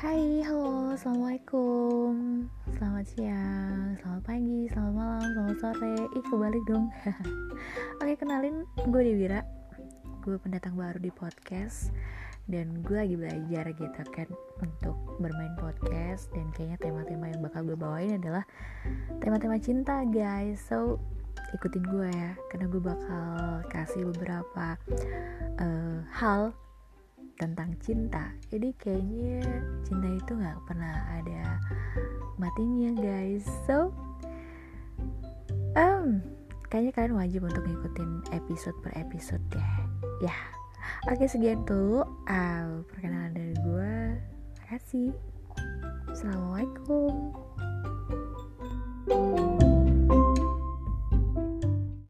Hai, halo, assalamualaikum. Selamat siang, selamat pagi, selamat malam, selamat sore. Kebalik dong. Oke, kenalin, gue Dewira. Gue pendatang baru di podcast. Dan gue lagi belajar gitu kan untuk bermain podcast. Dan kayaknya tema-tema yang bakal gue bawain adalah tema-tema cinta, guys. So, ikutin gue ya, karena gue bakal kasih beberapa hal tentang cinta. Jadi kayaknya cinta itu gak pernah ada matinya, guys. So kayaknya kalian wajib untuk ngikutin episode per episode deh. Ya, oke, sekian dulu perkenalan dari gue. Makasih. Assalamualaikum.